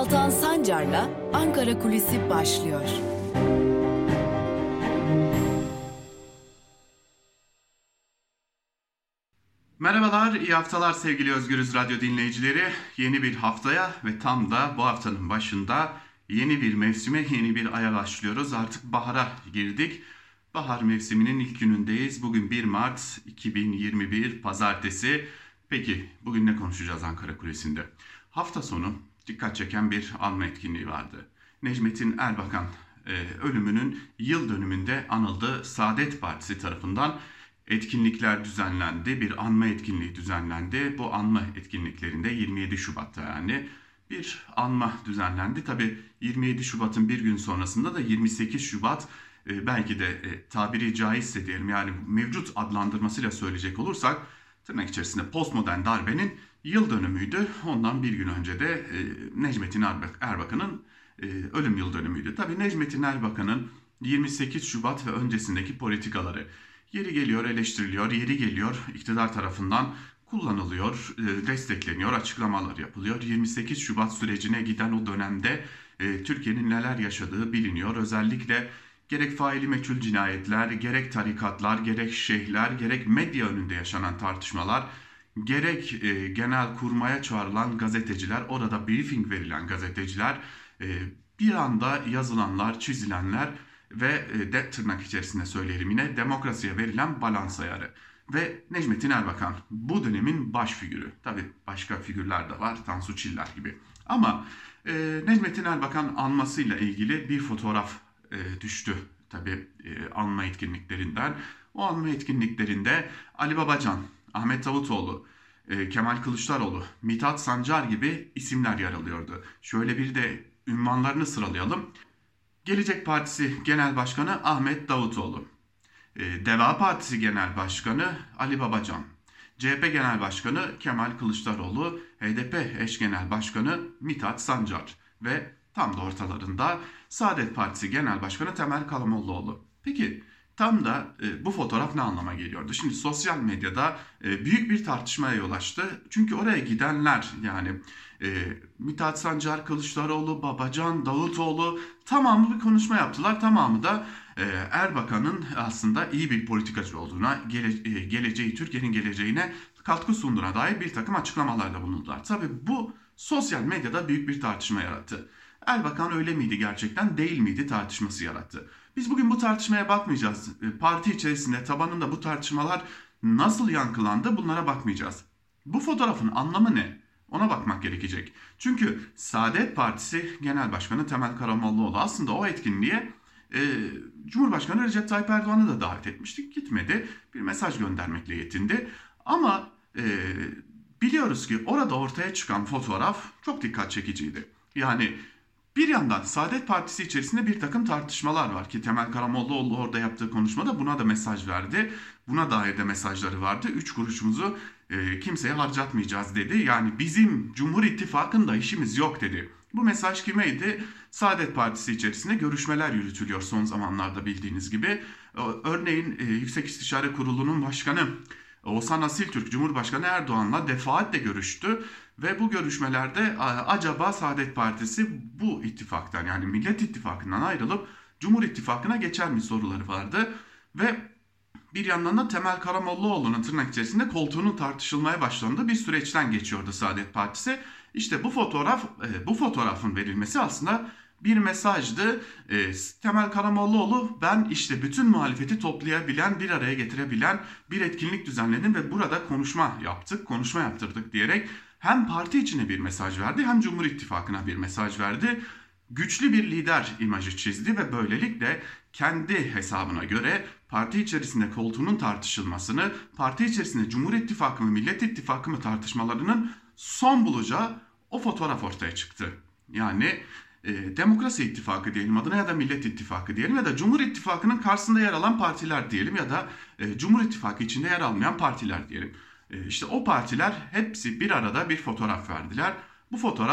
Altan Sancar'la Ankara Kulisi başlıyor. Merhabalar, iyi haftalar sevgili Özgürüz Radyo dinleyicileri. Yeni bir haftaya ve tam da bu haftanın başında yeni bir mevsime, yeni bir aya başlıyoruz. Artık bahara girdik. Bahar mevsiminin ilk günündeyiz. Bugün 1 Mart 2021 Pazartesi. Peki bugün ne konuşacağız Ankara Kulesi'nde? Hafta sonu dikkat çeken bir anma etkinliği vardı. Necmettin Erbakan ölümünün yıl dönümünde anıldı. Saadet Partisi tarafından etkinlikler düzenlendi. Bir anma etkinliği düzenlendi. Bu anma etkinliklerinde 27 Şubat'ta yani bir anma düzenlendi. Tabii 27 Şubat'ın bir gün sonrasında da 28 Şubat belki de tabiri caizse diyelim yani mevcut adlandırmasıyla söyleyecek olursak tırnak içerisinde postmodern darbenin yıl dönümüydü. Ondan bir gün önce de Necmettin Erbakan'ın ölüm yıl dönümüydü. Tabii Necmettin Erbakan'ın 28 Şubat ve öncesindeki politikaları yeri geliyor eleştiriliyor, yeri geliyor iktidar tarafından kullanılıyor, destekleniyor, açıklamalar yapılıyor. 28 Şubat sürecine giden o dönemde Türkiye'nin neler yaşadığı biliniyor. Özellikle gerek faili meçhul cinayetler, gerek tarikatlar, gerek şeyhler, gerek medya önünde yaşanan tartışmalar, gerek genel kurmaya çağrılan gazeteciler, orada briefing verilen gazeteciler, bir anda yazılanlar, çizilenler ve tırnak içerisinde söyleyelim yine demokrasiye verilen balans ayarı. Ve Necmettin Erbakan bu dönemin baş figürü. Tabii başka figürler de var, Tansu Çiller gibi. Ama Necmettin Erbakan anmasıyla ilgili bir fotoğraf düştü tabii anma etkinliklerinden. O anma etkinliklerinde Ali Babacan, Ahmet Davutoğlu, Kemal Kılıçdaroğlu, Mithat Sancar gibi isimler yer alıyordu. Şöyle bir de ünvanlarını sıralayalım. Gelecek Partisi Genel Başkanı Ahmet Davutoğlu, Deva Partisi Genel Başkanı Ali Babacan, CHP Genel Başkanı Kemal Kılıçdaroğlu, HDP eş Genel Başkanı Mithat Sancar ve tam da ortalarında Saadet Partisi Genel Başkanı Temel Karamollaoğlu. Peki tam da bu fotoğraf ne anlama geliyordu? Şimdi sosyal medyada büyük bir tartışmaya yol açtı. Çünkü oraya gidenler yani Mithat Sancar, Kılıçdaroğlu, Babacan, Davutoğlu tamamı bir konuşma yaptılar. Tamamı da Erbakan'ın aslında iyi bir politikacı olduğuna, geleceği, Türkiye'nin geleceğine katkı sunduğuna dair bir takım açıklamalarda bulundular. Tabii bu sosyal medyada büyük bir tartışma yarattı. Erbakan öyle miydi gerçekten, değil miydi tartışması yarattı. Biz bugün bu tartışmaya bakmayacağız. Parti içerisinde tabanında bu tartışmalar nasıl yankılandı bunlara bakmayacağız. Bu fotoğrafın anlamı ne? Ona bakmak gerekecek. Çünkü Saadet Partisi Genel Başkanı Temel Karamollaoğlu aslında o etkinliğe Cumhurbaşkanı Recep Tayyip Erdoğan'ı da davet etmiştik. Gitmedi. Bir mesaj göndermekle yetindi. Ama biliyoruz ki orada ortaya çıkan fotoğraf çok dikkat çekiciydi. Yani bir yandan Saadet Partisi içerisinde bir takım tartışmalar var ki Temel Karamollaoğlu orada yaptığı konuşmada buna da mesaj verdi. Buna dair de mesajları vardı. 3 kuruşumuzu kimseye harcatmayacağız dedi. Yani bizim Cumhur İttifakı'nda işimiz yok dedi. Bu mesaj kimeydi? Saadet Partisi içerisinde görüşmeler yürütülüyor son zamanlarda bildiğiniz gibi. Örneğin Yüksek İstişare Kurulu'nun başkanı Oğuzhan Asiltürk Cumhurbaşkanı Erdoğan'la defaatle görüştü. Ve bu görüşmelerde acaba Saadet Partisi bu ittifaktan yani Millet İttifakı'ndan ayrılıp Cumhur İttifakı'na geçer mi soruları vardı. Ve bir yandan da Temel Karamollaoğlu'nun tırnak içerisinde koltuğunun tartışılmaya başlandığı bir süreçten geçiyordu Saadet Partisi. İşte bu fotoğrafın verilmesi aslında bir mesajdı. Temel Karamollaoğlu ben işte bütün muhalefeti toplayabilen, bir araya getirebilen bir etkinlik düzenledim ve burada konuşma yaptırdık diyerek hem parti içine bir mesaj verdi hem Cumhur İttifakı'na bir mesaj verdi. Güçlü bir lider imajı çizdi ve böylelikle kendi hesabına göre parti içerisinde koltuğunun tartışılmasını, parti içerisinde Cumhur İttifakı mı, Millet İttifakı mı tartışmalarının son bulacağı o fotoğraf ortaya çıktı. Yani Demokrasi İttifakı diyelim adına ya da Millet İttifakı diyelim ya da Cumhur İttifakı'nın karşısında yer alan partiler diyelim ya da Cumhur İttifakı içinde yer almayan partiler diyelim. İşte o partiler hepsi bir arada bir fotoğraf verdiler. Bu fotoğraf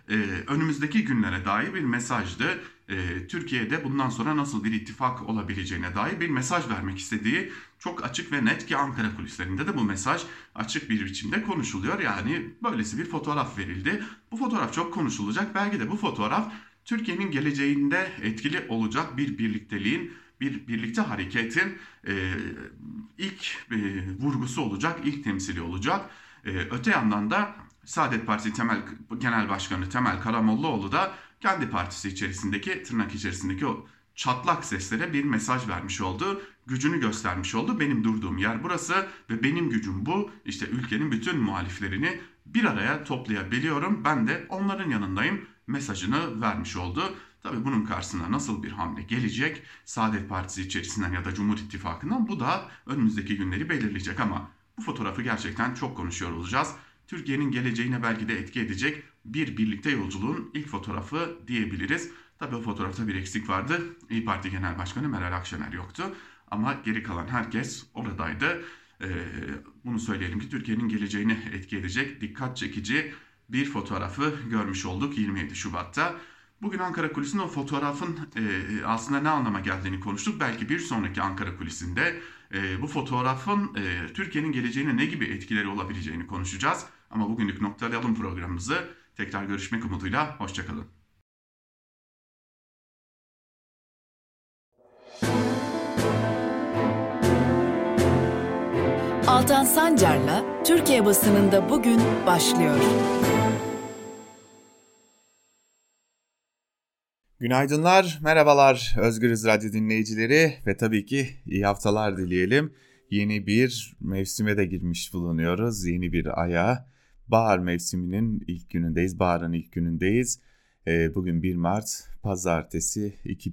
önümüzdeki günlere dair bir mesajdı. Türkiye'de bundan sonra nasıl bir ittifak olabileceğine dair bir mesaj vermek istediği çok açık ve net ki Ankara kulislerinde de bu mesaj açık bir biçimde konuşuluyor. Yani böylesi bir fotoğraf verildi. Bu fotoğraf çok konuşulacak. Belki de bu fotoğraf Türkiye'nin geleceğinde etkili olacak bir birlikteliğin, bir birlikte hareketin ilk vurgusu olacak, ilk temsili olacak. Öte yandan da Saadet Partisi Genel Başkanı Temel Karamollaoğlu da kendi partisi içerisindeki, tırnak içerisindeki o çatlak seslere bir mesaj vermiş oldu. Gücünü göstermiş oldu. Benim durduğum yer burası ve benim gücüm bu. İşte ülkenin bütün muhaliflerini bir araya toplayabiliyorum. Ben de onların yanındayım mesajını vermiş oldu. Tabii bunun karşısına nasıl bir hamle gelecek? Saadet Partisi içerisinden ya da Cumhur İttifakı'ndan, bu da önümüzdeki günleri belirleyecek ama bu fotoğrafı gerçekten çok konuşuyor olacağız. Türkiye'nin geleceğine belki de etki edecek bir birlikte yolculuğun ilk fotoğrafı diyebiliriz. Tabii o fotoğrafta bir eksik vardı. İYİ Parti Genel Başkanı Meral Akşener yoktu. Ama geri kalan herkes oradaydı. Bunu söyleyelim ki Türkiye'nin geleceğine etki edecek, dikkat çekici bir fotoğrafı görmüş olduk 27 Şubat'ta. Bugün Ankara Kulisi'nin o fotoğrafın aslında ne anlama geldiğini konuştuk. Belki bir sonraki Ankara Kulisi'nde bu fotoğrafın Türkiye'nin geleceğine ne gibi etkileri olabileceğini konuşacağız. Ama bugünlük noktalayalım programımızı. Tekrar görüşmek umuduyla, hoşçakalın. Altan Sancar'la Türkiye basınında bugün başlıyor. Günaydınlar, merhabalar Özgürüz Radyo dinleyicileri ve tabii ki iyi haftalar dileyelim. Yeni bir mevsime de girmiş bulunuyoruz, yeni bir aya. Bahar mevsiminin ilk günündeyiz, baharın ilk günündeyiz. Bugün 1 Mart, Pazartesi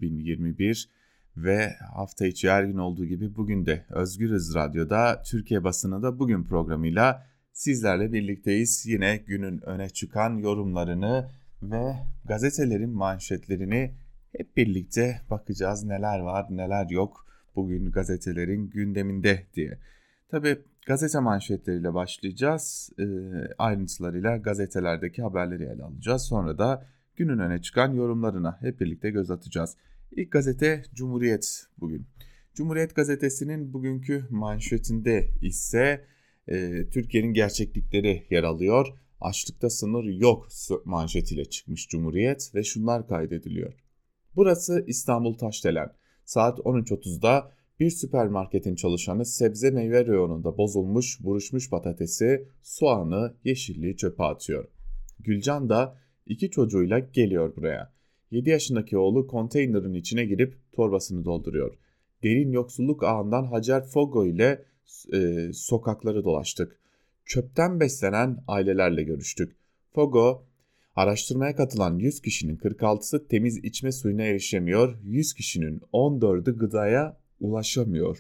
2021 ve hafta içi her gün olduğu gibi bugün de Özgürüz Radyo'da Türkiye basınında bugün programıyla sizlerle birlikteyiz. Yine günün öne çıkan yorumlarını ve gazetelerin manşetlerini hep birlikte bakacağız. Neler var, neler yok bugün gazetelerin gündeminde diye. Tabii gazete manşetleriyle başlayacağız. Ayrıntılarıyla gazetelerdeki haberleri ele alacağız. Sonra da günün öne çıkan yorumlarına hep birlikte göz atacağız. İlk gazete Cumhuriyet bugün. Cumhuriyet gazetesinin bugünkü manşetinde ise Türkiye'nin gerçeklikleri yer alıyor. Açlıkta sınır yok manşetiyle çıkmış Cumhuriyet ve şunlar kaydediliyor. Burası İstanbul Taşdelen. Saat 13.30'da bir süpermarketin çalışanı sebze meyve reyonunda bozulmuş, buruşmuş patatesi, soğanı, yeşilliği çöpe atıyor. Gülcan da 2 çocuğuyla geliyor buraya. 7 yaşındaki oğlu konteynerin içine girip torbasını dolduruyor. Derin yoksulluk ağından Hacer Fogo ile sokakları dolaştık. Çöpten beslenen ailelerle görüştük. Fogo, araştırmaya katılan 100 kişinin 46'sı temiz içme suyuna erişemiyor, 100 kişinin 14'ü gıdaya ulaşamıyor.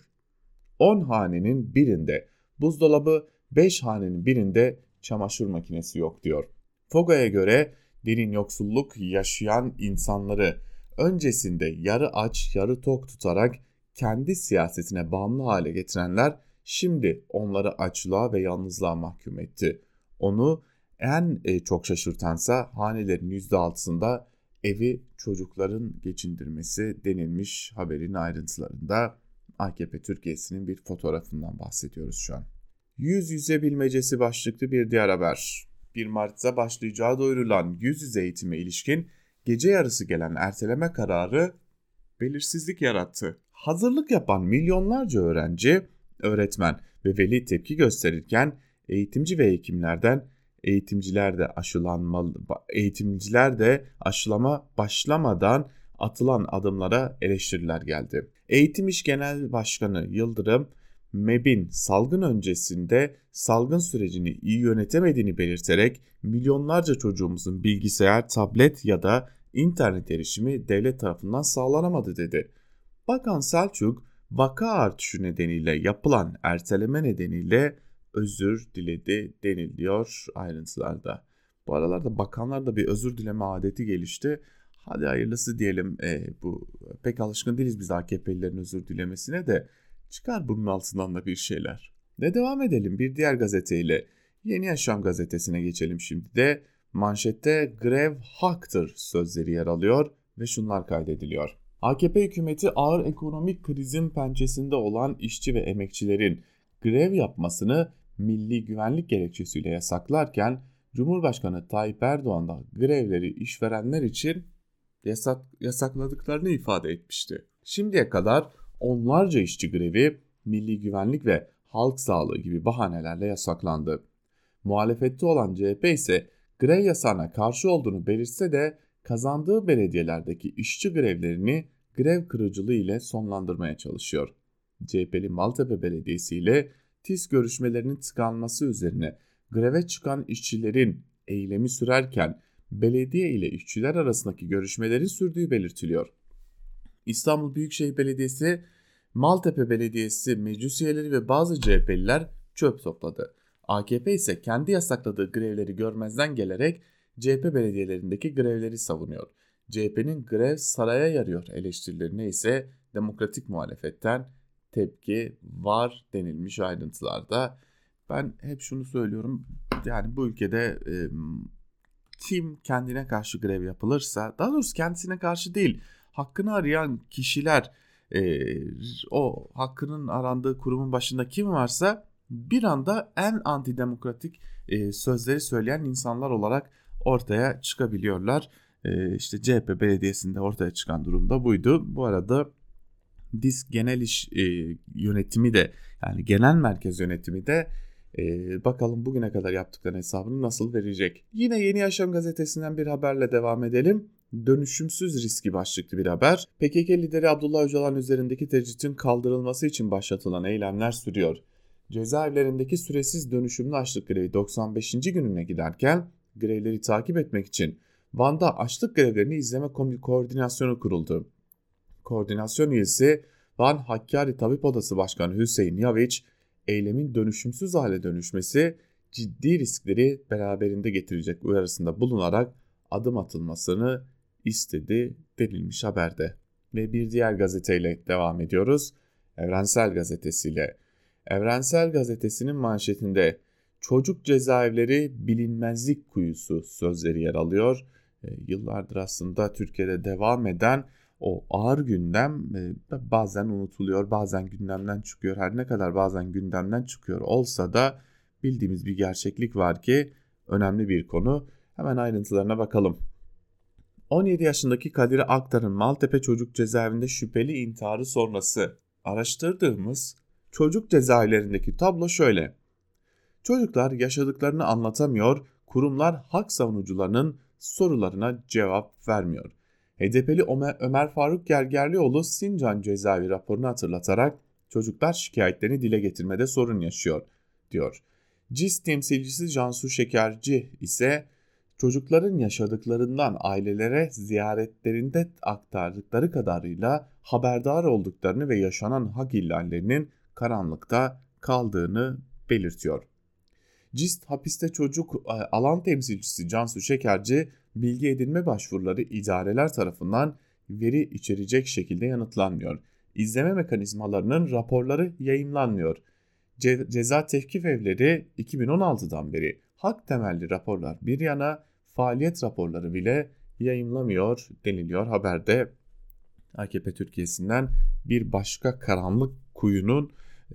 10 hanenin birinde buzdolabı, 5 hanenin birinde çamaşır makinesi yok diyor. Fogo'ya göre derin yoksulluk yaşayan insanları öncesinde yarı aç yarı tok tutarak kendi siyasetine bağımlı hale getirenler şimdi onları açlığa ve yalnızlığa mahkum etti. Onu en çok şaşırtansa hanelerin %6'sında evi çocukların geçindirmesi denilmiş haberin ayrıntılarında. AKP Türkiye'sinin bir fotoğrafından bahsediyoruz şu an. Yüz yüze bilmecesi başlıklı bir diğer haber. 1 Mart'ta başlayacağı duyurulan yüz yüze eğitime ilişkin gece yarısı gelen erteleme kararı belirsizlik yarattı. Hazırlık yapan milyonlarca öğrenci, öğretmen ve veli tepki gösterirken eğitimci ve hekimlerden eğitimciler de aşılama başlamadan atılan adımlara eleştiriler geldi. Eğitim İş Genel Başkanı Yıldırım, MEB'in salgın öncesinde salgın sürecini iyi yönetemediğini belirterek milyonlarca çocuğumuzun bilgisayar, tablet ya da internet erişimi devlet tarafından sağlanamadı dedi. Bakan Selçuk, vaka artışı nedeniyle yapılan erteleme nedeniyle özür diledi deniliyor ayrıntılarda. Bu aralarda bakanlarda bir özür dileme adeti gelişti. Hadi hayırlısı diyelim, bu pek alışkın değiliz biz AKP'lilerin özür dilemesine de, çıkar bunun altından da bir şeyler. Ve devam edelim bir diğer gazeteyle. Yeni Yaşam gazetesine geçelim şimdi de. Manşette grev haktır sözleri yer alıyor ve şunlar kaydediliyor. AKP hükümeti ağır ekonomik krizin pençesinde olan işçi ve emekçilerin grev yapmasını milli güvenlik gerekçesiyle yasaklarken Cumhurbaşkanı Tayyip Erdoğan da grevleri işverenler için yasakladıklarını ifade etmişti. Şimdiye kadar onlarca işçi grevi milli güvenlik ve halk sağlığı gibi bahanelerle yasaklandı. Muhalefette olan CHP ise grev yasağına karşı olduğunu belirtse de kazandığı belediyelerdeki işçi grevlerini grev kırıcılığı ile sonlandırmaya çalışıyor. CHP'li Maltepe Belediyesi ile TİS görüşmelerinin tıkanması üzerine greve çıkan işçilerin eylemi sürerken belediye ile işçiler arasındaki görüşmelerin sürdüğü belirtiliyor. İstanbul Büyükşehir Belediyesi, Maltepe Belediyesi meclis üyeleri ve bazı CHP'liler çöp topladı. AKP ise kendi yasakladığı grevleri görmezden gelerek CHP belediyelerindeki grevleri savunuyor. CHP'nin grev saraya yarıyor eleştirilerine ise demokratik muhalefetten tepki var denilmiş ayrıntılarda. Ben hep şunu söylüyorum, yani bu ülkede kim kendine karşı grev yapılırsa, daha doğrusu kendisine karşı değil, hakkını arayan kişiler, o hakkının arandığı kurumun başında kim varsa bir anda en antidemokratik sözleri söyleyen insanlar olarak ortaya çıkabiliyorlar. İşte CHP belediyesinde ortaya çıkan durumda buydu. Bu arada DİSK Genel İş Yönetimi de, yani Genel Merkez Yönetimi de bakalım bugüne kadar yaptıklarının hesabını nasıl verecek. Yine Yeni Yaşam gazetesinden bir haberle devam edelim. Dönüşümsüz riski başlıklı bir haber. PKK lideri Abdullah Öcalan üzerindeki tecritin kaldırılması için başlatılan eylemler sürüyor. Cezaevlerindeki süresiz dönüşümlü açlık grevi 95. gününe giderken grevleri takip etmek için Van'da açlık grevlerini izleme koordinasyonu kuruldu. Koordinasyon üyesi Van Hakkari Tabip Odası Başkanı Hüseyin Yaviç, eylemin dönüşümsüz hale dönüşmesi ciddi riskleri beraberinde getirecek uyarısında bulunarak adım atılmasını istedi denilmiş haberde. Ve bir diğer gazeteyle devam ediyoruz. Evrensel Gazetesi'yle. Evrensel Gazetesi'nin manşetinde çocuk cezaevleri bilinmezlik kuyusu sözleri yer alıyor. Yıllardır aslında Türkiye'de devam eden o ağır gündem bazen unutuluyor, bazen gündemden çıkıyor. Her ne kadar bazen gündemden çıkıyor olsa da bildiğimiz bir gerçeklik var ki önemli bir konu. Hemen ayrıntılarına bakalım. 17 yaşındaki Kadir Aktar'ın Maltepe Çocuk Cezaevinde şüpheli intiharı sonrası araştırdığımız çocuk cezaevlerindeki tablo şöyle. Çocuklar yaşadıklarını anlatamıyor, kurumlar hak savunucularının sorularına cevap vermiyor. HDP'li Ömer Faruk Gergerlioğlu Sincan cezaevi raporunu hatırlatarak çocuklar şikayetlerini dile getirmede sorun yaşıyor diyor. CİS temsilcisi Cansu Şekerci ise çocukların yaşadıklarından ailelere ziyaretlerinde aktardıkları kadarıyla haberdar olduklarını ve yaşanan hak ihlallerinin karanlıkta kaldığını belirtiyor. CİS hapiste çocuk alan temsilcisi Cansu Şekerci, bilgi edinme başvuruları idareler tarafından veri içerecek şekilde yanıtlanmıyor. İzleme mekanizmalarının raporları yayımlanmıyor. Ceza tevkif evleri 2016'dan beri hak temelli raporlar bir yana faaliyet raporları bile yayımlamıyor deniliyor haberde. AKP Türkiye'sinden bir başka karanlık kuyunun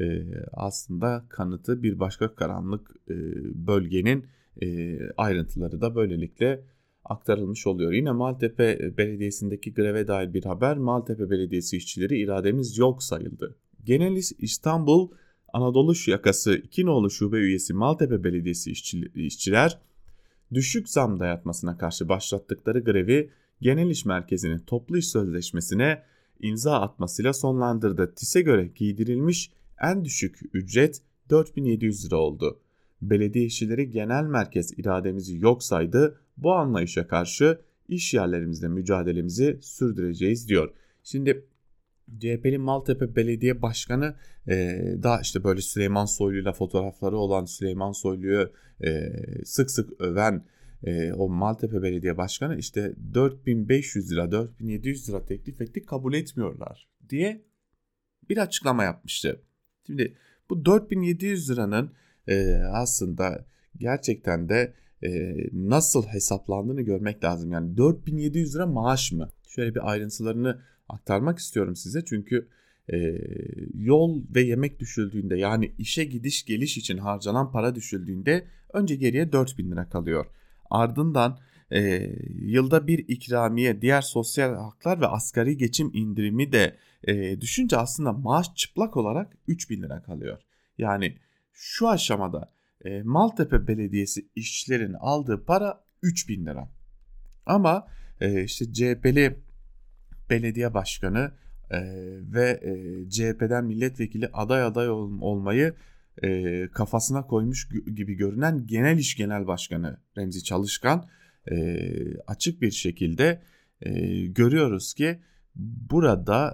aslında kanıtı, bir başka karanlık bölgenin ayrıntıları da böylelikle aktarılmış oluyor. Yine Maltepe Belediyesi'ndeki greve dair bir haber. Maltepe Belediyesi işçileri irademiz yok sayıldı. Genel İstanbul Anadolu Yakası 2 nolu şube üyesi Maltepe Belediyesi işçiler düşük zam dayatmasına karşı başlattıkları grevi Genel İş Merkezi'nin toplu iş sözleşmesine imza atmasıyla sonlandırdı. TİS'e göre giydirilmiş en düşük ücret 4.700 lira oldu. Belediye işçileri genel merkez irademizi yok saydı. Bu anlayışa karşı iş yerlerimizde mücadelemizi sürdüreceğiz diyor. Şimdi CHP'li Maltepe Belediye Başkanı da işte böyle Süleyman Soylu'yla fotoğrafları olan, Süleyman Soylu'yu sık sık öven o Maltepe Belediye Başkanı işte 4.500 lira 4.700 lira teklif ettik, kabul etmiyorlar diye bir açıklama yapmıştı. Şimdi bu 4.700 liranın aslında gerçekten de nasıl hesaplandığını görmek lazım. Yani 4.700 lira maaş mı? Şöyle bir ayrıntılarını aktarmak istiyorum size. Çünkü yol ve yemek düşüldüğünde, yani işe gidiş geliş için harcanan para düşüldüğünde önce geriye 4.000 lira kalıyor. Ardından yılda bir ikramiye, diğer sosyal haklar ve asgari geçim indirimi de düşünce aslında maaş çıplak olarak 3.000 lira kalıyor. Yani şu aşamada Maltepe Belediyesi işçilerin aldığı para 3.000 lira. Ama işte CHP'li belediye başkanı ve CHP'den milletvekili aday olmayı kafasına koymuş gibi görünen Genel İş Genel Başkanı Remzi Çalışkan açık bir şekilde görüyoruz ki burada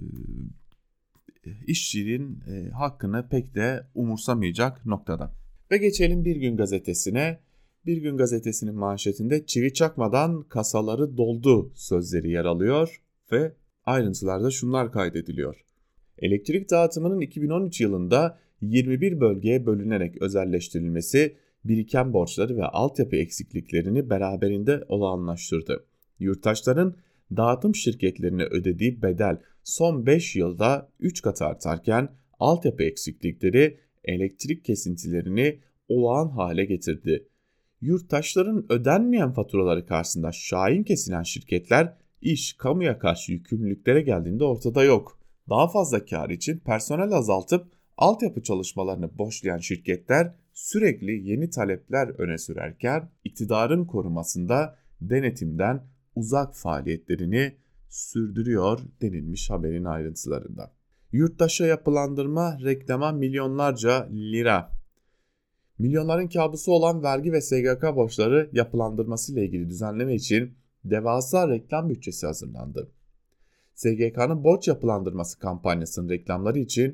işçinin hakkını pek de umursamayacak noktada. Ve geçelim Bir Gün Gazetesi'ne. Bir Gün Gazetesi'nin manşetinde "Çivi çakmadan kasaları doldu" sözleri yer alıyor ve ayrıntılarda şunlar kaydediliyor. Elektrik dağıtımının 2013 yılında 21 bölgeye bölünerek özelleştirilmesi biriken borçları ve altyapı eksikliklerini beraberinde olağanlaştırdı. Yurttaşların dağıtım şirketlerine ödediği bedel son 5 yılda 3 kat artarken altyapı eksiklikleri elektrik kesintilerini olağan hale getirdi. Yurttaşların ödenmeyen faturaları karşısında şahin kesilen şirketler iş kamuya karşı yükümlülüklere geldiğinde ortada yok. Daha fazla kar için personel azaltıp altyapı çalışmalarını boşlayan şirketler sürekli yeni talepler öne sürerken iktidarın korumasında denetimden uzak faaliyetlerini sürdürüyor denilmiş haberin ayrıntılarında. Yurttaşa yapılandırma reklama milyonlarca lira. Milyonların kabusu olan vergi ve SGK borçları yapılandırması ile ilgili düzenleme için devasa reklam bütçesi hazırlandı. SGK'nın borç yapılandırması kampanyasının reklamları için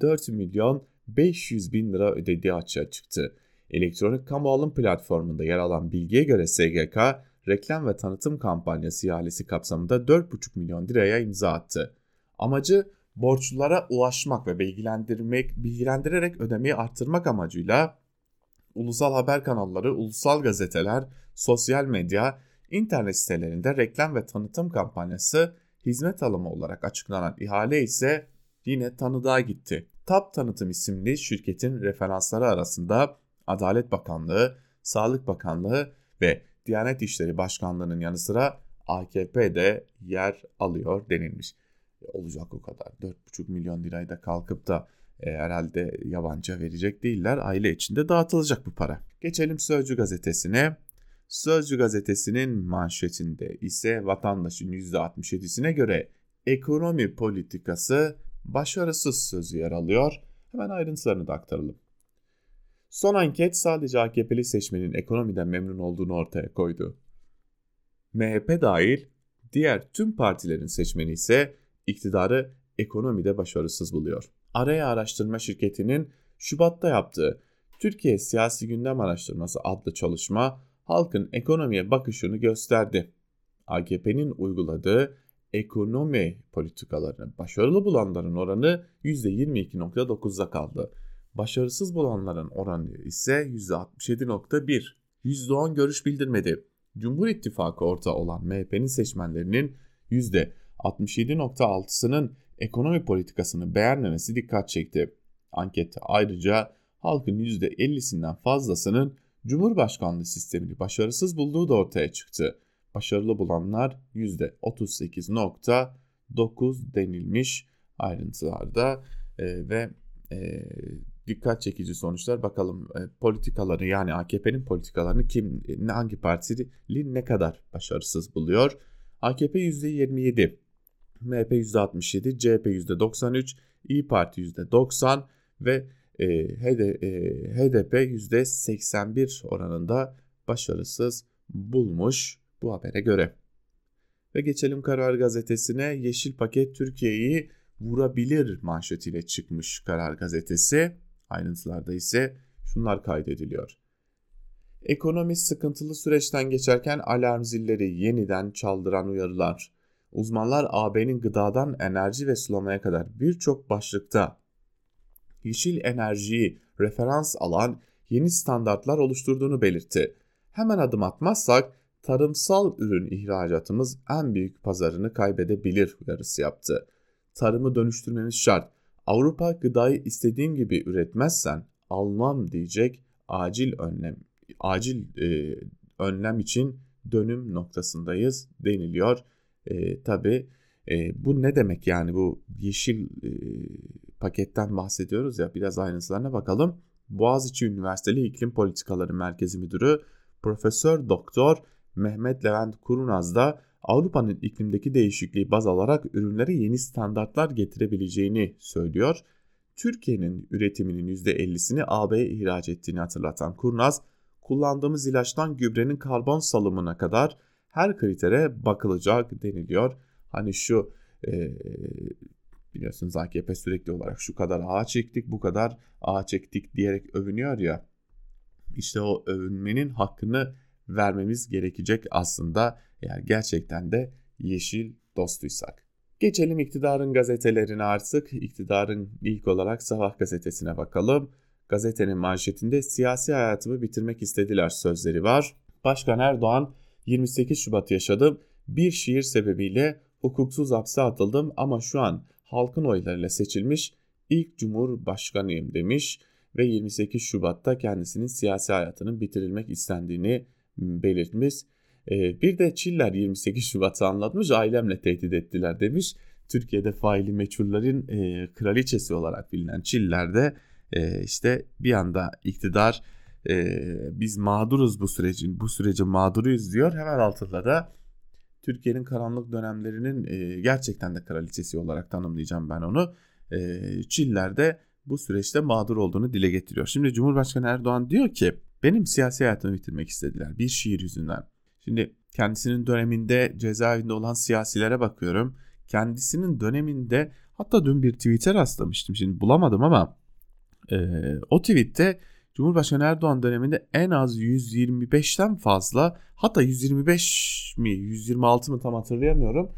4.500.000 lira ödediği açığa çıktı. Elektronik kamu alım platformunda yer alan bilgiye göre SGK, reklam ve tanıtım kampanyası ihalesi kapsamında 4,5 milyon liraya imza attı. Amacı borçlulara ulaşmak ve bilgilendirerek ödemeyi arttırmak amacıyla ulusal haber kanalları, ulusal gazeteler, sosyal medya, internet sitelerinde reklam ve tanıtım kampanyası hizmet alımı olarak açıklanan ihale ise yine tanıdığa gitti. TAP Tanıtım isimli şirketin referansları arasında Adalet Bakanlığı, Sağlık Bakanlığı ve Diyanet İşleri Başkanlığı'nın yanı sıra AKP de yer alıyor denilmiş. Olacak o kadar. 4,5 milyon lirayı da kalkıp da herhalde yabancıya verecek değiller. Aile içinde dağıtılacak bu para. Geçelim Sözcü gazetesine. Sözcü gazetesinin manşetinde ise vatandaşın %67'sine göre ekonomi politikası başarısız sözü yer alıyor. Hemen ayrıntılarını da aktaralım. Son anket sadece AKP'li seçmenin ekonomiden memnun olduğunu ortaya koydu. MHP dahil diğer tüm partilerin seçmeni ise iktidarı ekonomide başarısız buluyor. Araya Araştırma Şirketi'nin Şubat'ta yaptığı Türkiye Siyasi Gündem Araştırması adlı çalışma halkın ekonomiye bakışını gösterdi. AKP'nin uyguladığı ekonomi politikalarını başarılı bulanların oranı %22.9'da kaldı. Başarısız bulanların oranı ise %67.1. %10 görüş bildirmedi. Cumhur İttifakı ortağı olan MHP'nin seçmenlerinin %67.6'sının ekonomi politikasını beğenmemesi dikkat çekti. Ankette ayrıca halkın %50'sinden fazlasının Cumhurbaşkanlığı sistemini başarısız bulduğu da ortaya çıktı. Başarılı bulanlar %38.9 denilmiş ayrıntılarda ve dikkat çekici sonuçlar. Bakalım politikaları, yani AKP'nin politikalarını hangi partili ne kadar başarısız buluyor? AKP %27, MHP %67, CHP %93, İYİ Parti %90 ve HDP %81 oranında başarısız bulmuş bu habere göre. Ve geçelim Karar Gazetesi'ne. Yeşil paket Türkiye'yi vurabilir manşetiyle çıkmış Karar Gazetesi. Ayrıntılarda ise şunlar kaydediliyor. Ekonomi sıkıntılı süreçten geçerken alarm zilleri yeniden çaldıran uyarılar. Uzmanlar AB'nin gıdadan enerji ve sulamaya kadar birçok başlıkta yeşil enerjiyi referans alan yeni standartlar oluşturduğunu belirtti. Hemen adım atmazsak tarımsal ürün ihracatımız en büyük pazarını kaybedebilir uyarısı yaptı. Tarımı dönüştürmemiz şart. Avrupa gıdayı istediğim gibi üretmezsen almam diyecek, acil önlem için dönüm noktasındayız deniliyor. Tabii bu ne demek yani, bu yeşil paketten bahsediyoruz ya, biraz ayrıntılarına bakalım. Boğaziçi Üniversiteli İklim Politikaları Merkezi Müdürü Profesör Doktor Mehmet Levent Kurnaz da Avrupa'nın iklimdeki değişikliği baz alarak ürünlere yeni standartlar getirebileceğini söylüyor. Türkiye'nin üretiminin %50'sini AB'ye ihraç ettiğini hatırlatan Kurnaz, kullandığımız ilaçtan gübrenin karbon salımına kadar her kritere bakılacak deniliyor. Hani şu biliyorsunuz AKP sürekli olarak şu kadar ağaç ektik, bu kadar ağaç ektik diyerek övünüyor ya. İşte o övünmenin hakkını vermemiz gerekecek aslında, eğer gerçekten de yeşil dostuysak. Geçelim iktidarın gazetelerine artık. İktidarın ilk olarak Sabah gazetesine bakalım. Gazetenin manşetinde siyasi hayatımı bitirmek istediler sözleri var. Başkan Erdoğan 28 Şubat yaşadım. Bir şiir sebebiyle hukuksuz hapse atıldım ama şu an halkın oylarıyla seçilmiş ilk cumhurbaşkanıyım demiş ve 28 Şubat'ta kendisinin siyasi hayatının bitirilmek istendiğini belirtmiş. Bir de Çiller 28 Şubat'ı anlatmış, ailemle tehdit ettiler demiş. Türkiye'de faili meçhullerin kraliçesi olarak bilinen Çiller'de işte bir anda iktidar biz mağduruz bu sürecin mağduruyuz diyor. Hemen altında da Türkiye'nin karanlık dönemlerinin gerçekten de kraliçesi olarak tanımlayacağım ben onu. Çiller'de bu süreçte mağdur olduğunu dile getiriyor. Şimdi Cumhurbaşkanı Erdoğan diyor ki benim siyasi hayatımı bitirmek istediler bir şiir yüzünden. Şimdi kendisinin döneminde cezaevinde olan siyasilere bakıyorum. Kendisinin döneminde hatta dün bir tweet'e rastlamıştım. Şimdi bulamadım ama o tweet'te Cumhurbaşkanı Erdoğan döneminde en az 125'ten fazla, hatta 125 mi 126 mı tam hatırlayamıyorum,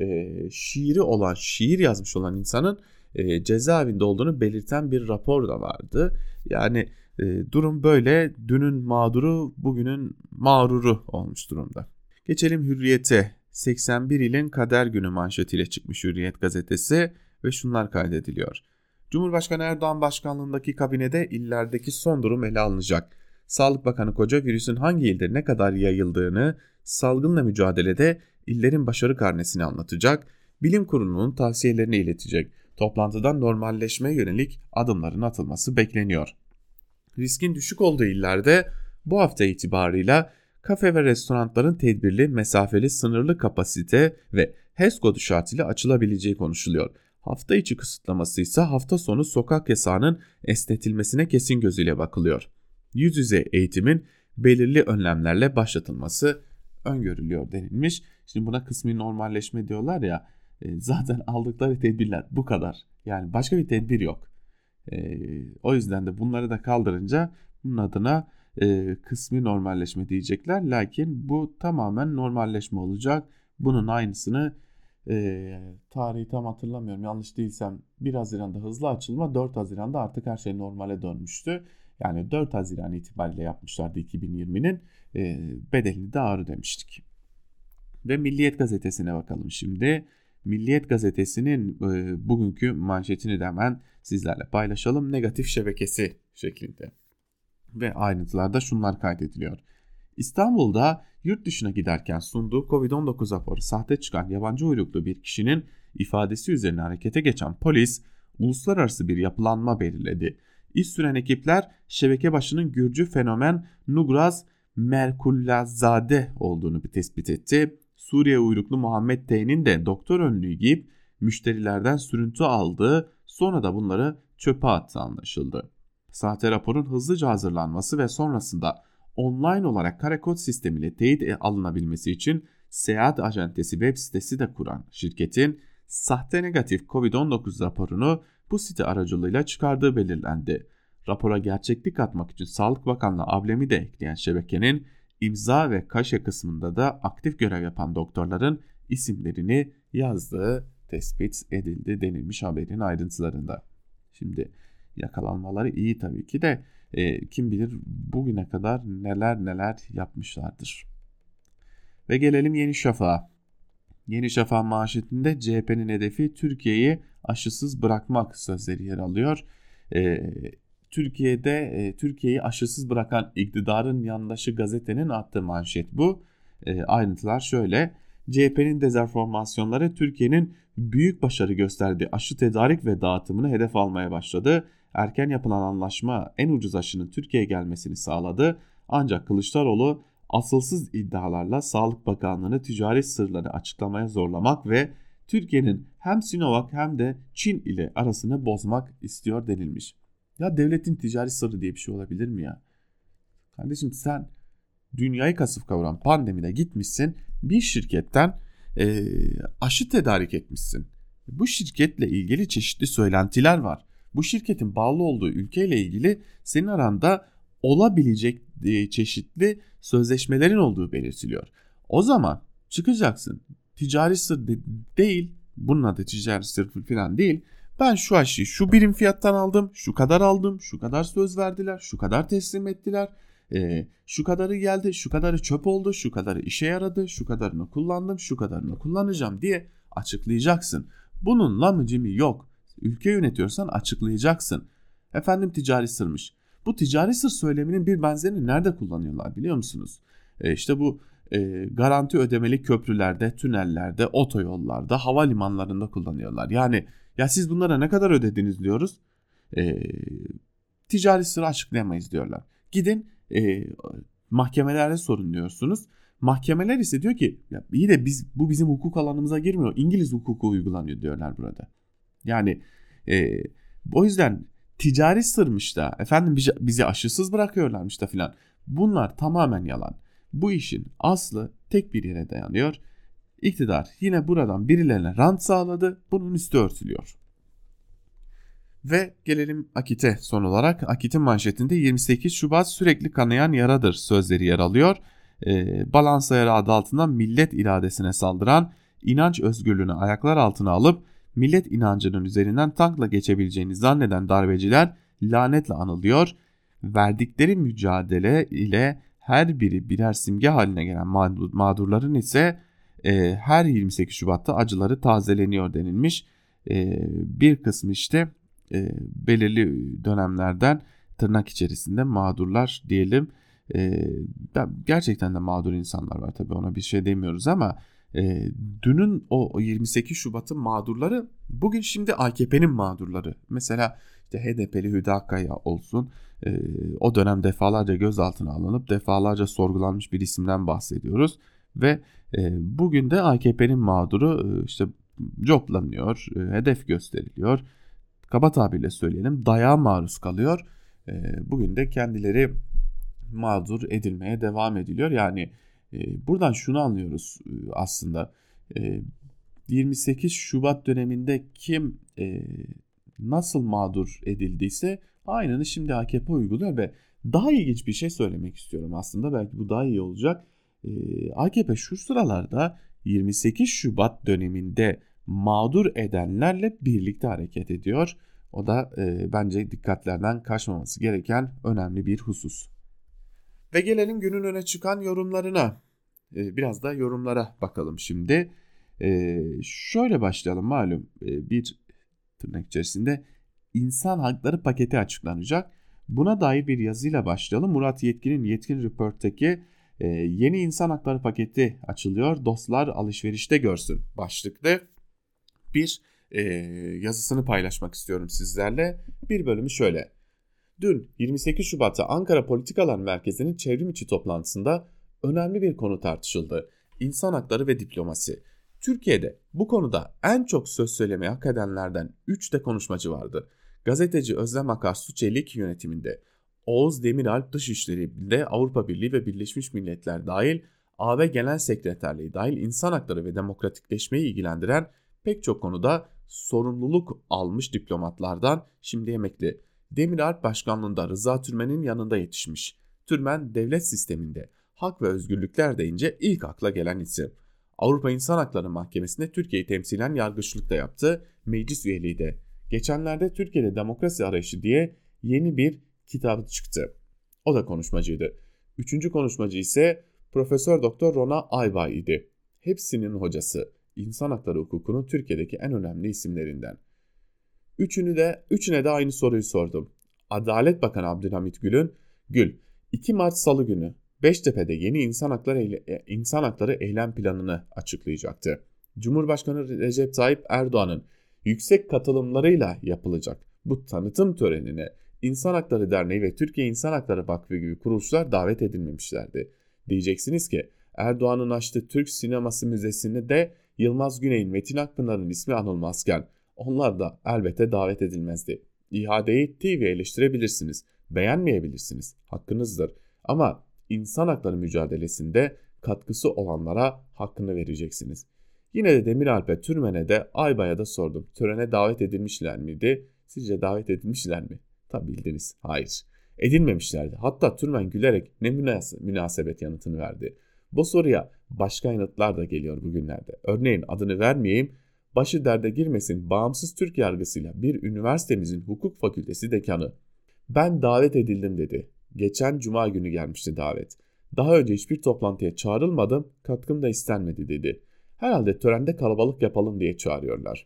şiir yazmış olan insanın cezaevinde olduğunu belirten bir rapor da vardı. Yani durum böyle, dünün mağduru bugünün mağruru olmuş durumda. Geçelim Hürriyet'e. 81 ilin kader günü manşetiyle çıkmış Hürriyet gazetesi ve şunlar kaydediliyor. Cumhurbaşkanı Erdoğan başkanlığındaki kabinede illerdeki son durum ele alınacak. Sağlık Bakanı Koca virüsün hangi ilde ne kadar yayıldığını, salgınla mücadelede illerin başarı karnesini anlatacak, bilim kurulunun tavsiyelerini iletecek. Toplantıdan normalleşmeye yönelik adımların atılması bekleniyor. Riskin düşük olduğu illerde bu hafta itibarıyla kafe ve restoranların tedbirli, mesafeli, sınırlı kapasite ve HES kodu şartıyla açılabileceği konuşuluyor. Hafta içi kısıtlaması ise hafta sonu sokak yasağının esnetilmesine kesin gözüyle bakılıyor. Yüz yüze eğitimin belirli önlemlerle başlatılması öngörülüyor denilmiş. Şimdi buna kısmi normalleşme diyorlar ya, zaten aldıkları tedbirler bu kadar. Yani başka bir tedbir yok. O yüzden de bunları da kaldırınca bunun adına kısmi normalleşme diyecekler. Lakin bu tamamen normalleşme olacak. Bunun aynısını tarihi tam hatırlamıyorum, yanlış değilsem 1 Haziran'da hızlı açılma, 4 Haziran'da artık her şey normale dönmüştü. Yani 4 Haziran itibariyle yapmışlardı 2020'nin bedelini de ağır demiştik. Ve Milliyet gazetesine bakalım şimdi. Milliyet gazetesinin bugünkü manşetini de hemen sizlerle paylaşalım. Negatif şebekesi şeklinde. Ve ayrıntılarda şunlar kaydediliyor. İstanbul'da yurt dışına giderken sunduğu Covid-19 raporu sahte çıkan yabancı uyruklu bir kişinin ifadesi üzerine harekete geçen polis uluslararası bir yapılanma belirledi. İş süren ekipler şebeke başının Gürcü fenomen Nugraz Merkullazade olduğunu tespit etti. Suriye uyruklu Muhammed T'nin de doktor önlüğü giyip müşterilerden sürüntü aldığı, sonra da bunları çöpe attığı anlaşıldı. Sahte raporun hızlıca hazırlanması ve sonrasında online olarak kare kod sistemiyle teyit alınabilmesi için seyahat acentesi web sitesi de kuran şirketin sahte negatif Covid-19 raporunu bu site aracılığıyla çıkardığı belirlendi. Rapora gerçeklik katmak için Sağlık Bakanlığı ablemi de ekleyen şebekenin imza ve kaşe kısmında da aktif görev yapan doktorların isimlerini yazdığı tespit edildi denilmiş haberin ayrıntılarında. Şimdi yakalanmaları iyi tabii ki de Kim bilir bugüne kadar neler yapmışlardır. Ve gelelim Yeni Şafak'a. Yeni Şafak manşetinde CHP'nin hedefi Türkiye'yi aşısız bırakmak sözleri yer alıyor. Türkiye'yi aşısız bırakan iktidarın yandaşı gazetenin attığı manşet bu. Ayrıntılar şöyle: CHP'nin dezenformasyonları Türkiye'nin büyük başarı gösterdiği aşı tedarik ve dağıtımını hedef almaya başladı. Erken yapılan anlaşma en ucuz aşının Türkiye'ye gelmesini sağladı. Ancak Kılıçdaroğlu asılsız iddialarla Sağlık Bakanlığı'nı ticari sırları açıklamaya zorlamak ve Türkiye'nin hem Sinovac hem de Çin ile arasını bozmak istiyor denilmiş. Ya devletin ticari sırrı diye bir şey olabilir mi ya? Kardeşim sen dünyayı kasıp kavuran pandemide gitmişsin bir şirketten aşı tedarik etmişsin. Bu şirketle ilgili çeşitli söylentiler var. Bu şirketin bağlı olduğu ülkeyle ilgili senin aranda olabilecek çeşitli sözleşmelerin olduğu belirtiliyor. O zaman çıkacaksın. Ticari sır değil, bunun adı ticari sır falan değil. Ben şu aşıyı şu birim fiyattan aldım, şu kadar aldım, şu kadar söz verdiler, şu kadar teslim ettiler. Şu kadarı geldi, şu kadarı çöp oldu, şu kadarı işe yaradı, şu kadarını kullandım, şu kadarını kullanacağım diye açıklayacaksın. Bunun lamıcımı yok. Ülke yönetiyorsan açıklayacaksın. Efendim ticari sırmış. Bu ticari sır söyleminin bir benzerini nerede kullanıyorlar biliyor musunuz? İşte bu garanti ödemeli köprülerde, tünellerde, otoyollarda, havalimanlarında kullanıyorlar. Yani ya siz bunlara ne kadar ödediniz diyoruz. Ticari sırrı açıklayamayız diyorlar. Gidin mahkemelerde sorun diyorsunuz. Mahkemeler ise diyor ki ya iyi de bu bizim hukuk alanımıza girmiyor. İngiliz hukuku uygulanıyor diyorlar burada. Yani o yüzden ticari sırmış da efendim bizi aşısız bırakıyorlarmış da filan. Bunlar tamamen yalan. Bu işin aslı tek bir yere dayanıyor. İktidar yine buradan birilerine rant sağladı. Bunun üstü örtülüyor. Ve gelelim Akit'e son olarak. Akit'in manşetinde 28 Şubat sürekli kanayan yaradır sözleri yer alıyor. Balans ayarı adı altında millet iradesine saldıran, inanç özgürlüğünü ayaklar altına alıp millet inancının üzerinden tankla geçebileceğini zanneden darbeciler lanetle anılıyor. Verdikleri mücadele ile her biri birer simge haline gelen mağdurların ise her 28 Şubat'ta acıları tazeleniyor denilmiş. Bir kısmı işte belirli dönemlerden tırnak içerisinde mağdurlar diyelim. Gerçekten de mağdur insanlar var tabii, ona bir şey demiyoruz ama dünün o 28 Şubat'ın mağdurları bugün şimdi AKP'nin mağdurları. Mesela işte HDP'li Hüdakaya olsun, o dönem defalarca gözaltına alınıp defalarca sorgulanmış bir isimden bahsediyoruz ve bugün de AKP'nin mağduru işte coplanıyor, hedef gösteriliyor. Kaba tabirle söyleyelim, dayağa maruz kalıyor. Bugün de kendileri mağdur edilmeye devam ediliyor. Yani buradan şunu anlıyoruz aslında. 28 Şubat döneminde kim nasıl mağdur edildiyse aynını şimdi AKP uyguluyor ve daha ilginç bir şey söylemek istiyorum aslında. Belki bu daha iyi olacak. AKP şu sıralarda 28 Şubat döneminde mağdur edenlerle birlikte hareket ediyor. O da bence dikkatlerden kaçmaması gereken önemli bir husus. Ve gelelim günün öne çıkan yorumlarına. Biraz da yorumlara bakalım şimdi. Şöyle başlayalım, malum bir tırnak içerisinde insan hakları paketi açıklanacak. Buna dair bir yazıyla başlayalım. Murat Yetkin'in Yetkin Report'taki yeni insan hakları paketi açılıyor. Dostlar alışverişte görsün başlıklı bir yazısını paylaşmak istiyorum sizlerle. Bir bölümü şöyle. Dün 28 Şubat'ta Ankara Politikalar Merkezi'nin çevrim içi toplantısında önemli bir konu tartışıldı. İnsan hakları ve diplomasi. Türkiye'de bu konuda en çok söz söylemeye hak edenlerden 3 de konuşmacı vardı. Gazeteci Özlem Akarsu Çelik yönetiminde, Oğuz Demiralp Dışişleri'nde Avrupa Birliği ve Birleşmiş Milletler dahil AB Genel Sekreterliği dahil insan hakları ve demokratikleşmeyi ilgilendiren pek çok konuda sorumluluk almış diplomatlardan şimdi emekli. Demiralp başkanlığında Rıza Türmen'in yanında yetişmiş. Türmen devlet sisteminde hak ve özgürlükler deyince ilk akla gelen isim. Avrupa İnsan Hakları Mahkemesi'nde Türkiye'yi temsilen yargıçlık da yaptı, meclis üyeliği de. Geçenlerde Türkiye'de demokrasi arayışı diye yeni bir kitabı çıktı. O da konuşmacıydı. Üçüncü konuşmacı ise Profesör Doktor Rona Aybay idi. Hepsinin hocası. İnsan hakları hukukunun Türkiye'deki en önemli isimlerinden. Üçüne de aynı soruyu sordum. Adalet Bakanı Abdülhamit Gül, 2 Mart Salı günü Beştepe'de yeni insan hakları eylem planını açıklayacaktı. Cumhurbaşkanı Recep Tayyip Erdoğan'ın yüksek katılımlarıyla yapılacak bu tanıtım törenine İnsan Hakları Derneği ve Türkiye İnsan Hakları Vakfı gibi kuruluşlar davet edilmemişlerdi. Diyeceksiniz ki Erdoğan'ın açtığı Türk Sineması Müzesi'nde de Yılmaz Güney'in, Metin Akpınar'ın ismi anılmazken onlar da elbette davet edilmezdi. İHA'yı TV eleştirebilirsiniz, beğenmeyebilirsiniz, hakkınızdır. Ama insan hakları mücadelesinde katkısı olanlara hakkını vereceksiniz. Yine de Demiralp'e, Türmen'e de Aybay'a da sordum. Törene davet edilmişler miydi? Sizce davet edilmişler mi? Tabi bildiniz. Hayır. Edilmemişlerdi. Hatta Türmen gülerek ne münasebet yanıtını verdi. Bu soruya başka yanıtlar da geliyor bugünlerde. Örneğin adını vermeyeyim. Başı derde girmesin bağımsız Türk yargısıyla bir üniversitemizin hukuk fakültesi dekanı. Ben davet edildim dedi. Geçen cuma günü gelmişti davet. Daha önce hiçbir toplantıya çağrılmadım, katkım da istenmedi dedi. Herhalde törende kalabalık yapalım diye çağırıyorlar.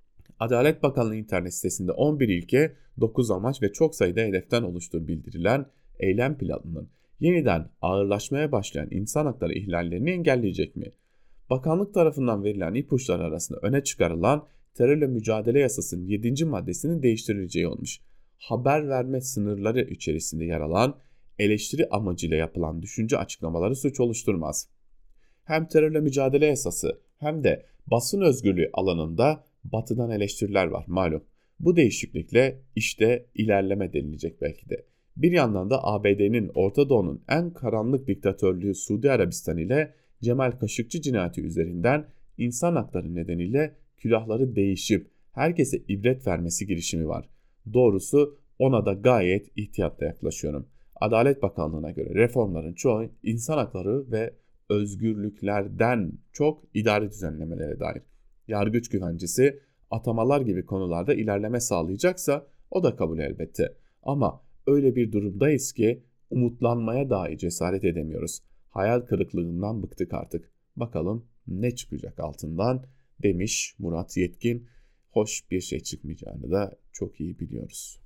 Adalet Bakanlığı internet sitesinde 11 ilke, 9 amaç ve çok sayıda hedeften oluştuğu bildirilen eylem planının yeniden ağırlaşmaya başlayan insan hakları ihlallerini engelleyecek mi? Bakanlık tarafından verilen ipuçları arasında öne çıkarılan terörle mücadele yasasının 7. maddesinin değiştirileceği olmuş. Haber verme sınırları içerisinde yer alan eleştiri amacıyla yapılan düşünce açıklamaları suç oluşturmaz. Hem terörle mücadele yasası hem de basın özgürlüğü alanında batıdan eleştiriler var malum. Bu değişiklikle işte ilerleme denilecek belki de. Bir yandan da ABD'nin Orta Doğu'nun en karanlık diktatörlüğü Suudi Arabistan ile Cemal Kaşıkçı cinayeti üzerinden insan hakları nedeniyle külahları değişip herkese ibret vermesi girişimi var. Doğrusu ona da gayet ihtiyatla yaklaşıyorum. Adalet Bakanlığı'na göre reformların çoğu insan hakları ve özgürlüklerden çok idari düzenlemelere dair. Yargıç güvencesi, atamalar gibi konularda ilerleme sağlayacaksa o da kabul elbette. Ama öyle bir durumdayız ki umutlanmaya dahi cesaret edemiyoruz. Hayal kırıklığından bıktık artık. Bakalım ne çıkacak altından demiş Murat Yetkin. Hoş bir şey çıkmayacağını da çok iyi biliyoruz.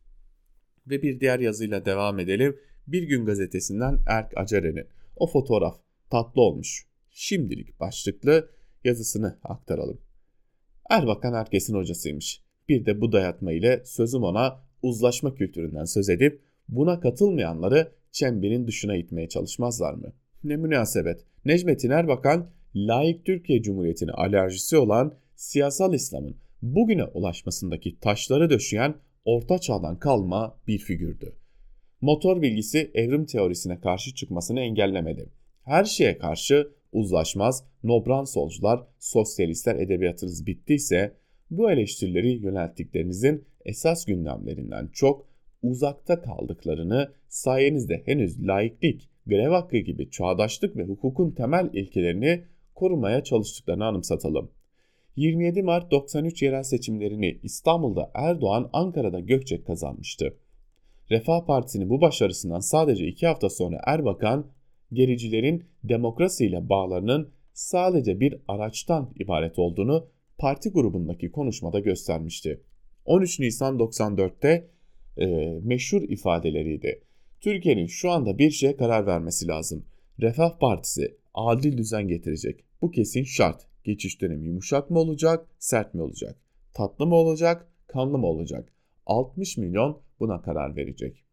Ve bir diğer yazıyla devam edelim. Bir Gün Gazetesi'nden Erk Acerer'in o fotoğraf tatlı olmuş. Şimdilik başlıklı yazısını aktaralım. Erbakan herkesin hocasıymış. Bir de bu dayatma ile sözüm ona uzlaşma kültüründen söz edip buna katılmayanları çemberin dışına itmeye çalışmazlar mı? Ne münasebet. Necmettin Erbakan, laik Türkiye Cumhuriyeti'ne alerjisi olan siyasal İslam'ın bugüne ulaşmasındaki taşları döşeyen Orta Çağ'dan kalma bir figürdü. Motor bilgisi evrim teorisine karşı çıkmasını engellemedi. Her şeye karşı uzlaşmaz, nobran solcular, sosyalistler edebiyatınız bittiyse bu eleştirileri yönelttiklerinizin esas gündemlerinden çok uzakta kaldıklarını sayenizde henüz laiklik, grev hakkı gibi çağdaşlık ve hukukun temel ilkelerini korumaya çalıştıklarını anımsatalım. 27 Mart 93 yerel seçimlerini İstanbul'da Erdoğan, Ankara'da Gökçek kazanmıştı. Refah Partisi'nin bu başarısından sadece 2 hafta sonra Erbakan, gericilerin demokrasiyle bağlarının sadece bir araçtan ibaret olduğunu parti grubundaki konuşmada göstermişti. 13 Nisan 94'te meşhur ifadeleriydi. Türkiye'nin şu anda bir şeye karar vermesi lazım. Refah Partisi adil düzen getirecek. Bu kesin şart. Geçiş dönemi yumuşak mı olacak, sert mi olacak? Tatlı mı olacak, kanlı mı olacak? 60 milyon buna karar verecek.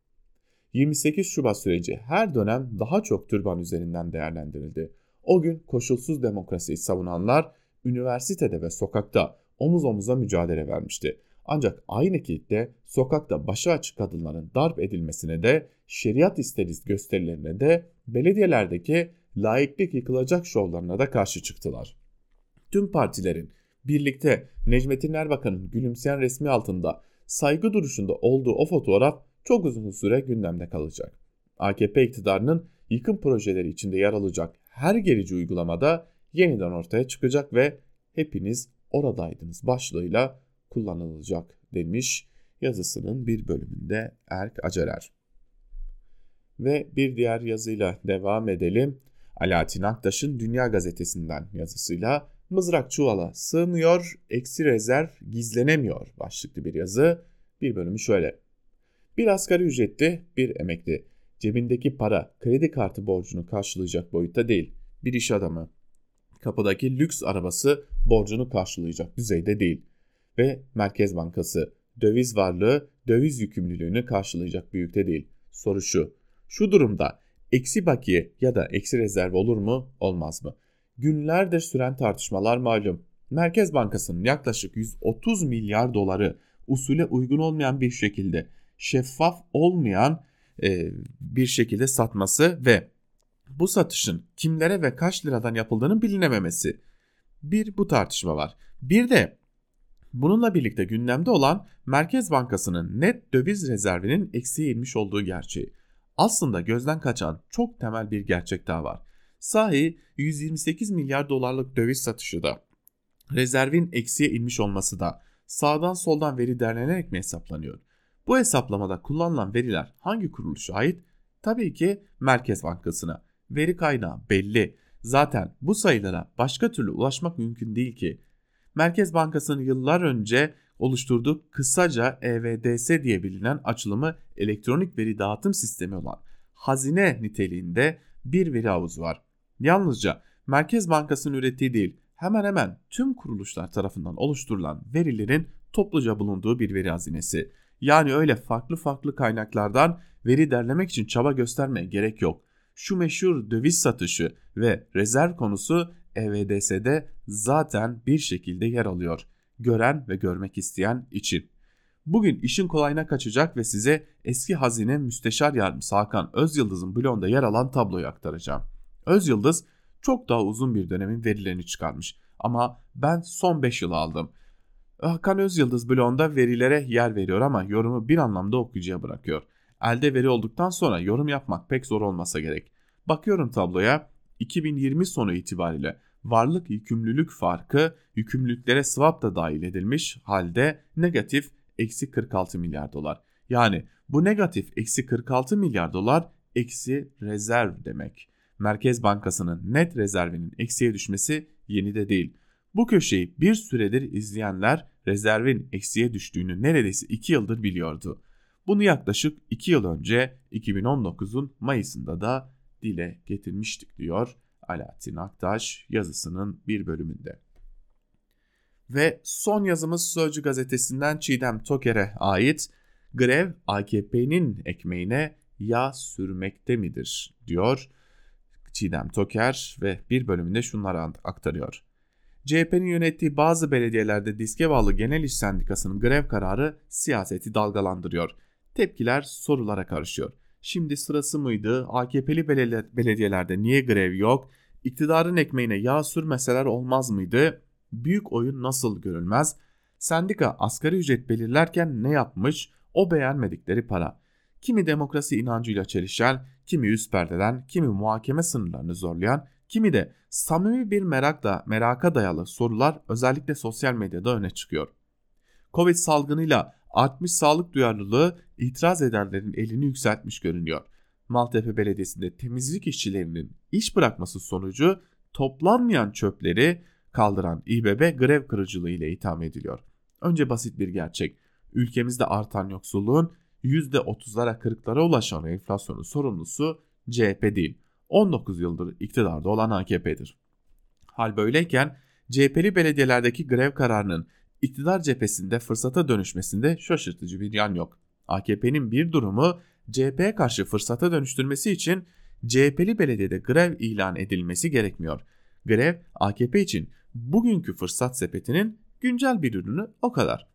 28 Şubat süreci her dönem daha çok türban üzerinden değerlendirildi. O gün koşulsuz demokrasiyi savunanlar üniversitede ve sokakta omuz omuza mücadele vermişti. Ancak aynı kitle sokakta başı açık kadınların darp edilmesine de, şeriat isteriz gösterilerine de, belediyelerdeki laiklik yıkılacak şovlarına da karşı çıktılar. Tüm partilerin birlikte Necmettin Erbakan'ın gülümseyen resmi altında saygı duruşunda olduğu o fotoğraf çok uzun süre gündemde kalacak. AKP iktidarının yıkım projeleri içinde yer alacak her gerici uygulamada yeniden ortaya çıkacak ve hepiniz oradaydınız başlığıyla kullanılacak demiş yazısının bir bölümünde Erk Acerer. Ve bir diğer yazıyla devam edelim. Alaaddin Aktaş'ın Dünya Gazetesi'nden yazısıyla mızrak çuvala sığmıyor, eksi rezerv gizlenemiyor başlıklı bir yazı. Bir bölümü şöyle. Bir asgari ücretli, bir emekli. Cebindeki para kredi kartı borcunu karşılayacak boyutta değil. Bir iş adamı. Kapıdaki lüks arabası borcunu karşılayacak düzeyde değil. Ve Merkez Bankası döviz varlığı döviz yükümlülüğünü karşılayacak büyükte değil. Soru şu. Şu durumda eksi bakiye ya da eksi rezerv olur mu, olmaz mı? Günlerdir süren tartışmalar malum. Merkez Bankası'nın yaklaşık 130 milyar doları usule uygun olmayan bir şekilde, şeffaf olmayan bir şekilde satması ve bu satışın kimlere ve kaç liradan yapıldığının bilinememesi. Bir bu tartışma var. Bir de bununla birlikte gündemde olan Merkez Bankası'nın net döviz rezervinin eksiye inmiş olduğu gerçeği. Aslında gözden kaçan çok temel bir gerçek daha var. Sahi 128 milyar dolarlık döviz satışı da, rezervin eksiye inmiş olması da sağdan soldan veri derlenerek mi hesaplanıyor? Bu hesaplamada kullanılan veriler hangi kuruluşa ait? Tabii ki Merkez Bankası'na. Veri kaynağı belli. Zaten bu sayılara başka türlü ulaşmak mümkün değil ki. Merkez Bankası'nın yıllar önce oluşturduğu kısaca EVDS diye bilinen açılımı elektronik veri dağıtım sistemi olan hazine niteliğinde bir veri havuzu var. Yalnızca Merkez Bankası'nın ürettiği değil, hemen hemen tüm kuruluşlar tarafından oluşturulan verilerin topluca bulunduğu bir veri hazinesi. Yani öyle farklı kaynaklardan veri derlemek için çaba göstermeye gerek yok. Şu meşhur döviz satışı ve rezerv konusu EVDS'de zaten bir şekilde yer alıyor. Gören ve görmek isteyen için. Bugün işin kolayına kaçacak ve size eski Hazine Müsteşar Yardımcısı Hakan Özyıldız'ın blogunda yer alan tabloyu aktaracağım. Özyıldız çok daha uzun bir dönemin verilerini çıkarmış ama ben son 5 yıl aldım. Hakan Özyıldız blogunda verilere yer veriyor ama yorumu bir anlamda okuyucuya bırakıyor. Elde veri olduktan sonra yorum yapmak pek zor olmasa gerek. Bakıyorum tabloya, 2020 sonu itibariyle varlık yükümlülük farkı yükümlülüklere swap da dahil edilmiş halde negatif eksi 46 milyar dolar. Yani bu negatif eksi 46 milyar dolar eksi rezerv demek. Merkez Bankası'nın net rezervinin eksiye düşmesi yeni de değil. Bu köşeyi bir süredir izleyenler rezervin eksiye düştüğünü neredeyse 2 yıldır biliyordu. Bunu yaklaşık 2 yıl önce 2019'un Mayıs'ında da dile getirmiştik diyor Alaaddin Aktaş yazısının bir bölümünde. Ve son yazımız Sözcü gazetesinden Çiğdem Toker'e ait. Grev AKP'nin ekmeğine yağ sürmekte midir diyor Çiğdem Toker ve bir bölümünde şunları aktarıyor. CHP'nin yönettiği bazı belediyelerde diske bağlı Genel İş Sendikası'nın grev kararı siyaseti dalgalandırıyor. Tepkiler sorulara karışıyor. Şimdi sırası mıydı? AKP'li belediyelerde niye grev yok? İktidarın ekmeğine yağ sürmeseler olmaz mıydı? Büyük oyun nasıl görülmez? Sendika asgari ücret belirlerken ne yapmış? O beğenmedikleri para. Kimi demokrasi inancıyla çelişen, kimi üst perdeden, kimi muhakeme sınırlarını zorlayan, kimi de samimi bir meraka dayalı sorular özellikle sosyal medyada öne çıkıyor. Covid salgınıyla artmış sağlık duyarlılığı itiraz edenlerin elini yükseltmiş görünüyor. Maltepe Belediyesi'nde temizlik işçilerinin iş bırakması sonucu toplanmayan çöpleri kaldıran İBB grev kırıcılığı ile itham ediliyor. Önce basit bir gerçek. Ülkemizde artan yoksulluğun %30'lara 40'lara ulaşan enflasyonun sorumlusu CHP değil, 19 yıldır iktidarda olan AKP'dir. Hal böyleyken CHP'li belediyelerdeki grev kararının iktidar cephesinde fırsata dönüşmesinde şaşırtıcı bir yan yok. AKP'nin bir durumu CHP'ye karşı fırsata dönüştürmesi için CHP'li belediyede grev ilan edilmesi gerekmiyor. Grev AKP için bugünkü fırsat sepetinin güncel bir ürünü, o kadar.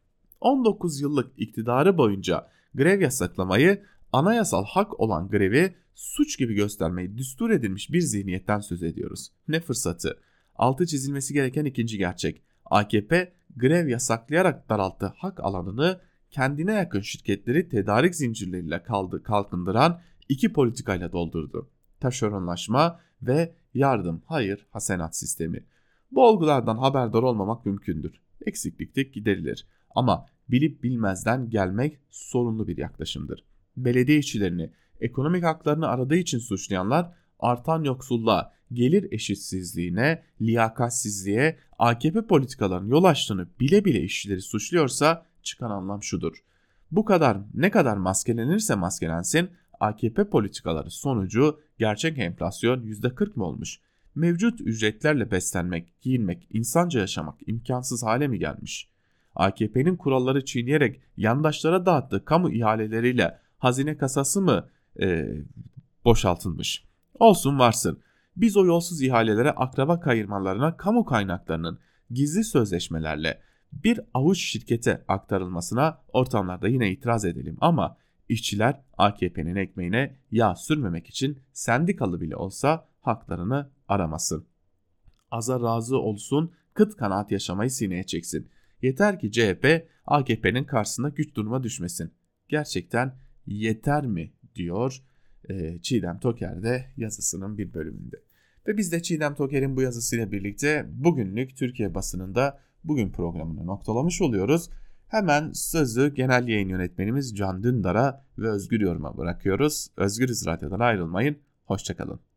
19 yıllık iktidarı boyunca grev yasaklamayı, anayasal hak olan grevi suç gibi göstermeyi düstur edilmiş bir zihniyetten söz ediyoruz. Ne fırsatı? Altı çizilmesi gereken ikinci gerçek. AKP grev yasaklayarak daralttığı hak alanını kendine yakın şirketleri tedarik zincirleriyle kalkındıran iki politikayla doldurdu. Taşeronlaşma ve yardım hayır hasenat sistemi. Bu olgulardan haberdar olmamak mümkündür. Eksiklikte giderilir. Ama bilip bilmezden gelmek sorunlu bir yaklaşımdır. Belediye işçilerini, ekonomik haklarını aradığı için suçlayanlar artan yoksulluğa, gelir eşitsizliğine, liyakatsizliğe, AKP politikalarının yol açtığını bile bile işçileri suçluyorsa çıkan anlam şudur. Bu kadar ne kadar maskelenirse maskelensin AKP politikaları sonucu gerçek enflasyon %40 mı olmuş? Mevcut ücretlerle beslenmek, giyinmek, insanca yaşamak imkansız hale mi gelmiş? AKP'nin kuralları çiğneyerek yandaşlara dağıttığı kamu ihaleleriyle hazine kasası mı boşaltılmış? Olsun varsın. Biz o yolsuz ihalelere, akraba kayırmalarına, kamu kaynaklarının gizli sözleşmelerle bir avuç şirkete aktarılmasına ortamlarda yine itiraz edelim ama işçiler AKP'nin ekmeğine yağ sürmemek için sendikalı bile olsa haklarını aramasın. Aza razı olsun, kıt kanaat yaşamayı sineye çeksin. Yeter ki CHP AKP'nin karşısında güç duruma düşmesin. Gerçekten yeter mi diyor Çiğdem Toker de yazısının bir bölümünde. Ve biz de Çiğdem Toker'in bu yazısıyla birlikte bugünlük Türkiye basınında bugün programını noktalamış oluyoruz. Hemen sözü genel yayın yönetmenimiz Can Dündar'a ve Özgür Yorum'a bırakıyoruz. Özgürüz Radyo'dan ayrılmayın. Hoşçakalın.